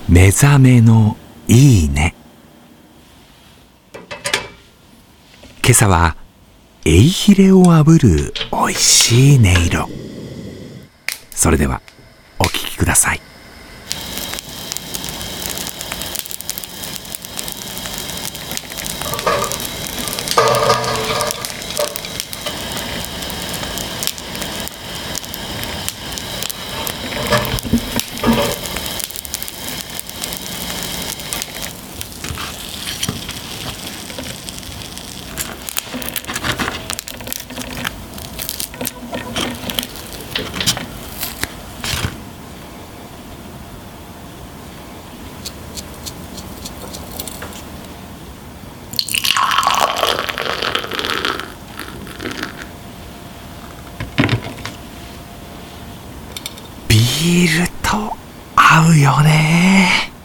目覚めのいいね。今朝はエイヒレを炙るおいしい音色。それではお聞きください。ビールと合うよね。